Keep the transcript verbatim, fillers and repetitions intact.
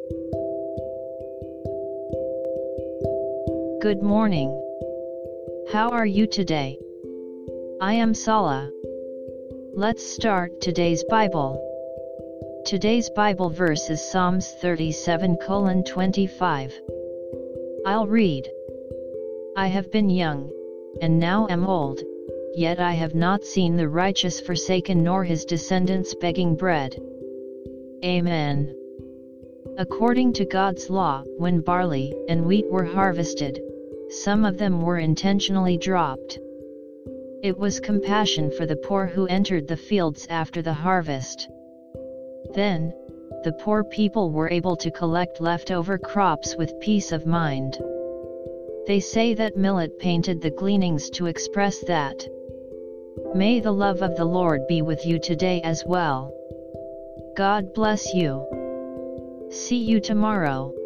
Good morning. How are you today? I am Sala. Let's start today's Bible. Today's Bible verse is Psalms thirty-seven twenty-five. I'll read. I have been young, and now am old, yet I have not seen the righteous forsaken nor his descendants begging bread. Amen. According to God's law, when barley and wheat were harvested, some of them were intentionally dropped. It was compassion for the poor who entered the fields after the harvest. Then, the poor people were able to collect leftover crops with peace of mind. They say that Millet painted the gleanings to express that. May the love of the Lord be with you today as well. God bless you. See you tomorrow.